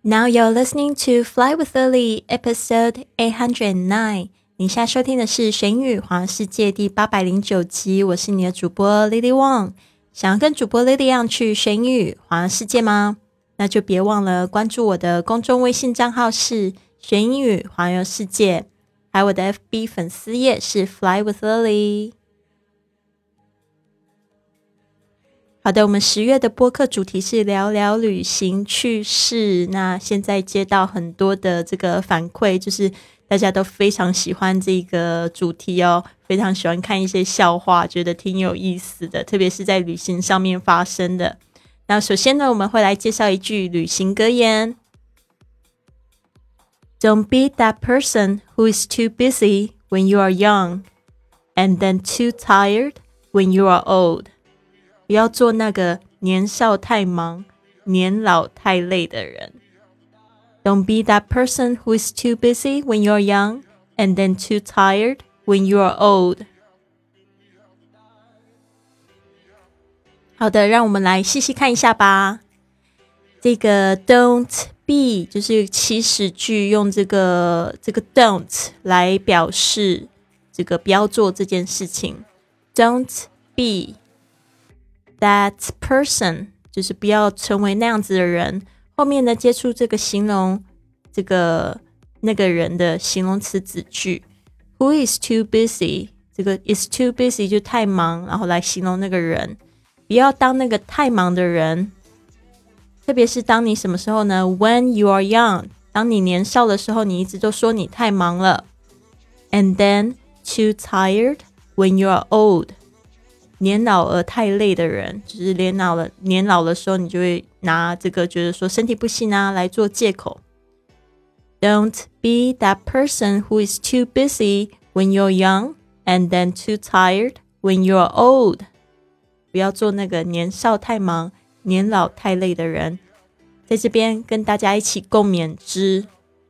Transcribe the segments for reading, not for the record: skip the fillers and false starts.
Now you're listening to Fly with Lily, episode 809. 你现在收听的是《神语环游世界》第809集，我是你的主播 Lily Wang。想要跟主播 Lily 一样去神语环游世界吗？那就别忘了关注我的公众微信账号是神语环游世界，还有我的 FB 粉丝页是 Fly with Lily。好的，我们10月的播客主题是聊聊旅行趣事。那现在接到很多的这个反馈，就是大家都非常喜欢这个主题哦，非常喜欢看一些笑话，觉得挺有意思的，特别是在旅行上面发生的。那首先呢，我们会来介绍一句旅行格言。Don't be that person who is too busy when you are young, and then too tired when you are old.不要做那个年少太忙、年老太累的人。Don't be that person who is too busy when you're young and then too tired when you're old. 好的，让我们来细细看一下吧。这个 don't be 就是祈使句，用这个 don't 来表示这个不要做这件事情。Don't be.That person 就是不要成为那样子的人，后面呢接触这个形容这个那个人的形容词子句。Who is too busy 这个 is too busy 就太忙，然后来形容那个人，不要当那个太忙的人。特别是当你什么时候呢？ When you are young 当你年少的时候，你一直都说你太忙了。And then too tired when you are old年老而太累的人，就是年老的时候，你就会拿这个觉得说身体不行啊来做借口。Don't be that person who is too busy when you're young and then too tired when you're old. 不要做那个年少太忙、年老太累的人。在这边跟大家一起共勉之。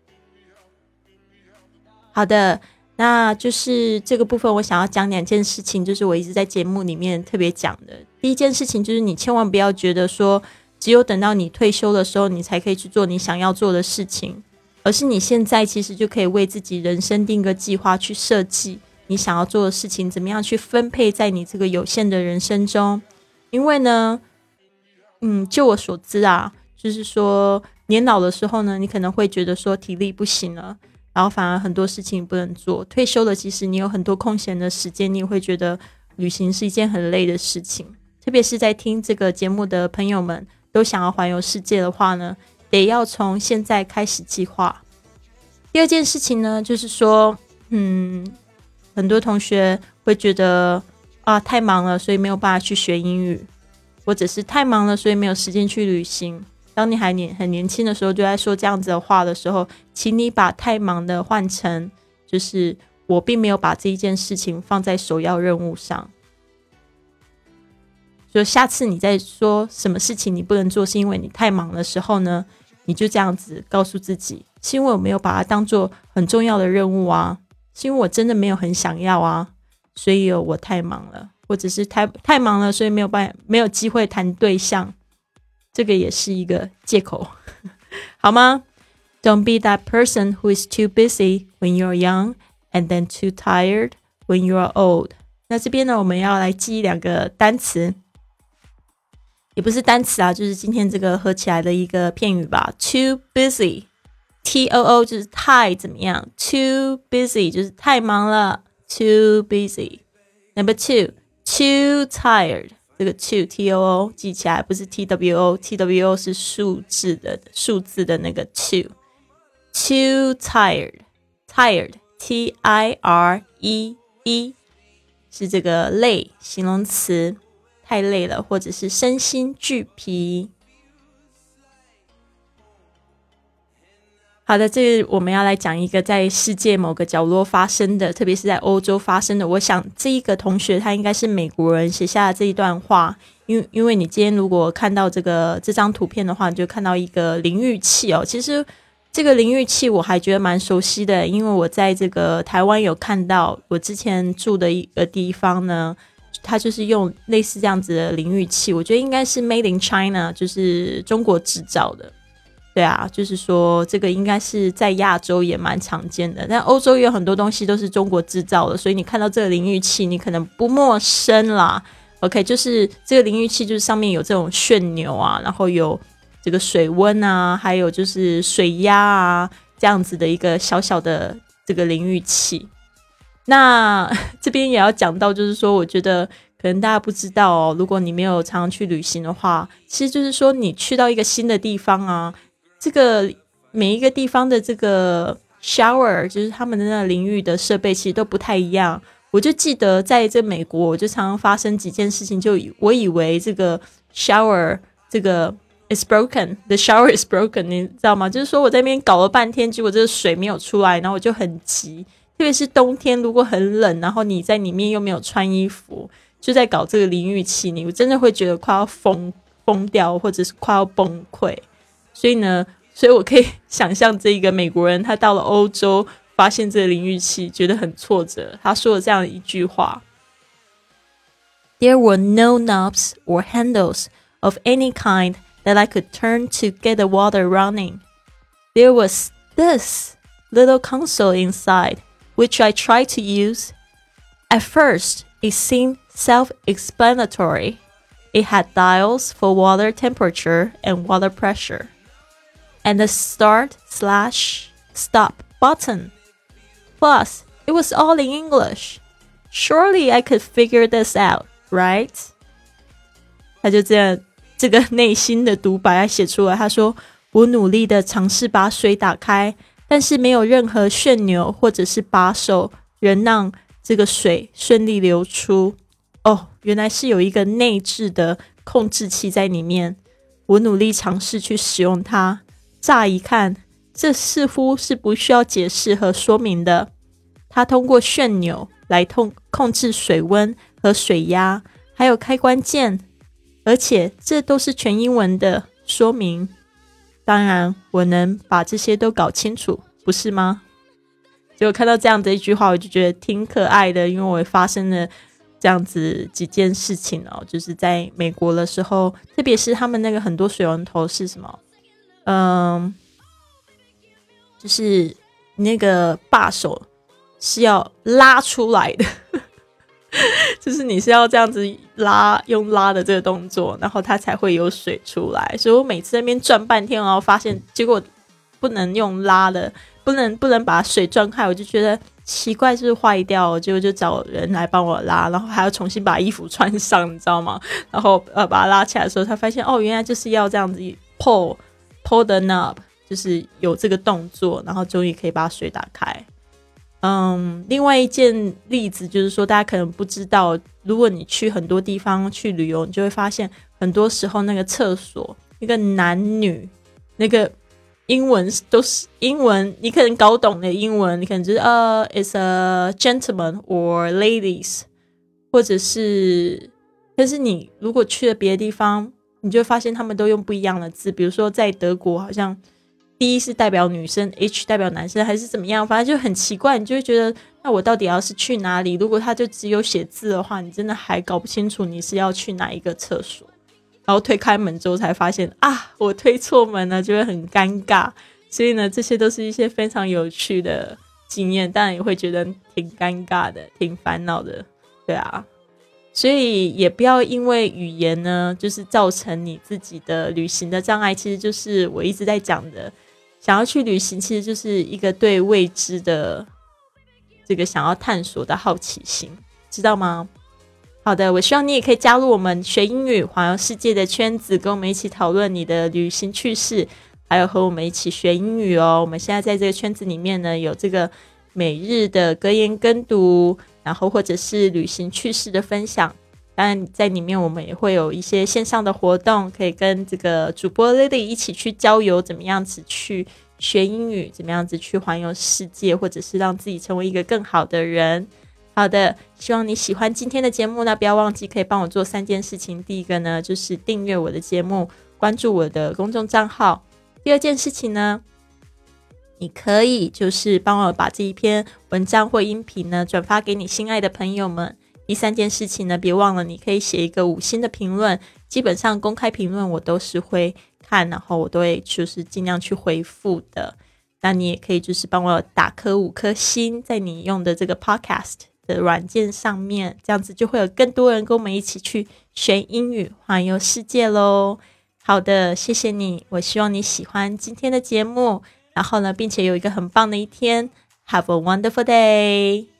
好的。那就是这个部分我想要讲2件事情，就是我一直在节目里面特别讲的。第一件事情就是你千万不要觉得说只有等到你退休的时候你才可以去做你想要做的事情，而是你现在其实就可以为自己人生定个计划，去设计你想要做的事情怎么样去分配在你这个有限的人生中。因为呢就我所知啊，就是说年老的时候呢，你可能会觉得说体力不行了，然后反而很多事情不能做。退休了，其实你有很多空闲的时间，你也会觉得旅行是一件很累的事情。特别是在听这个节目的朋友们都想要环游世界的话呢，得要从现在开始计划。第二件事情呢，就是说很多同学会觉得太忙了，所以没有办法去学英语，或者是太忙了，所以没有时间去旅行。当你还很年轻的时候就在说这样子的话的时候，请你把太忙的换成就是我并没有把这一件事情放在首要任务上。所以下次你在说什么事情你不能做是因为你太忙的时候呢，你就这样子告诉自己，是因为我没有把它当做很重要的任务啊，是因为我真的没有很想要啊，所以我太忙了，或者是太忙了，所以没有机会谈对象，这个也是一个借口好吗？ Don't be that person who is too busy when you're young and then too tired when you're old. 那这边呢，我们要来记2个单词，也不是单词啊，就是今天这个合起来的一个片语吧。 Too busy T-O-O 就是太怎么样， Too busy 就是太忙了， Too busy. Number 2 Too tired，这个 to T-O-O 记起来，不是 T-W-O T-W-O 是数字的那个 to Too tired T-I-R-E-D 是这个累形容词，太累了，或者是身心俱疲。好的，这我们要来讲一个在世界某个角落发生的，特别是在欧洲发生的。我想这一个同学他应该是美国人写下的这一段话，因为你今天如果看到这张图片的话，你就看到一个淋浴器哦。其实这个淋浴器我还觉得蛮熟悉的，因为我在这个台湾有看到，我之前住的一个地方呢，它就是用类似这样子的淋浴器，我觉得应该是 Made in China， 就是中国制造的。 对啊，就是说这个应该是在亚洲也蛮常见的，但欧洲也有很多东西都是中国制造的，所以你看到这个淋浴器你可能不陌生啦。 OK， 就是这个淋浴器就是上面有这种旋钮啊，然后有这个水温啊，还有就是水压啊，这样子的一个小小的这个淋浴器。那这边也要讲到，就是说我觉得可能大家不知道哦，如果你没有常常去旅行的话，其实就是说你去到一个新的地方啊，这个每一个地方的这个 shower 就是他们的那个淋浴的设备其实都不太一样。我就记得在这美国我就常常发生几件事情，就我以为这个 shower 这个 is broken， the shower is broken， 你知道吗？就是说我在那边搞了半天，结果这个水没有出来，然后我就很急，特别是冬天如果很冷，然后你在里面又没有穿衣服，就在搞这个淋浴器，你真的会觉得快要疯掉，或者是快要崩溃。所以我可以想象这个美国人他到了欧洲发现这个淋浴器觉得很挫折，他说了这样一句话 ：There were no knobs or handles of any kind that I could turn to get the water running. There was this little console inside, which I tried to use. At first, it seemed self-explanatory. It had dials for water temperature and water pressure, and a start/stop button. Plus, it was all in English. Surely I could figure this out, right? 他就这个内心的独白写出来，他说我努力的尝试把水打开，但是没有任何旋钮或者是把手能让这个水顺利流出。哦，原来是有一个内置的控制器在里面，我努力尝试去使用它，乍一看这似乎是不需要解释和说明的。它通过旋钮来控制水温和水压，还有开关键，而且这都是全英文的说明。当然我能把这些都搞清楚，不是吗？结果看到这样的一句话，我就觉得挺可爱的，因为我发生了这样子几件事情哦，就是在美国的时候，特别是他们那个很多水龙头是什么，就是那个把手是要拉出来的就是你是要这样子拉，用拉的这个动作，然后它才会有水出来。所以我每次在那边转半天，然后发现结果不能用拉的，不能把水转开，我就觉得奇怪，是不是坏掉？结果就找人来帮我拉，然后还要重新把衣服穿上，你知道吗？然后把它拉起来的时候，才发现哦，原来就是要这样子 pull the knob， 就是有这个动作，然后终于可以把水打开。另外一件例子就是说，大家可能不知道，如果你去很多地方去旅游，你就会发现很多时候那个厕所那个男女那个英文都是英文，你可能搞懂的英文，你可能就是it's a gentleman or ladies， 或者是，但是你如果去了别的地方，你就会发现他们都用不一样的字，比如说在德国好像D 是代表女生， H 代表男生，还是怎么样，反正就很奇怪，你就会觉得那我到底要是去哪里？如果他就只有写字的话，你真的还搞不清楚你是要去哪一个厕所，然后推开门之后才发现啊，我推错门了，就会很尴尬。所以呢，这些都是一些非常有趣的经验，当然也会觉得挺尴尬的，挺烦恼的，对啊。所以也不要因为语言呢，就是造成你自己的旅行的障碍。其实就是我一直在讲的，想要去旅行其实就是一个对未知的这个想要探索的好奇心，知道吗？好的，我希望你也可以加入我们学英语环游世界的圈子，跟我们一起讨论你的旅行趣事，还有和我们一起学英语哦。我们现在在这个圈子里面呢，有这个每日的格言跟读，然后或者是旅行趣事的分享。当然在里面我们也会有一些线上的活动，可以跟这个主播 Lily 一起去郊游，怎么样子去学英语，怎么样子去环游世界，或者是让自己成为一个更好的人。好的，希望你喜欢今天的节目呢，不要忘记可以帮我做3件事情。第一个呢，就是订阅我的节目，关注我的公众账号。第二件事情呢，你可以就是帮我把这一篇文章或音频呢转发给你心爱的朋友们， 第三件事情呢，别忘了你可以写一个5星的评论，基本上公开评论我都是会看，然后我都会就是尽量去回复的。那你也可以就是帮我打颗5颗星在你用的这个 podcast 的软件上面，这样子就会有更多人跟我们一起去学英语环游世界咯。好的，谢谢你，我希望你喜欢今天的节目，然后呢并且有一个很棒的一天。Have a wonderful day!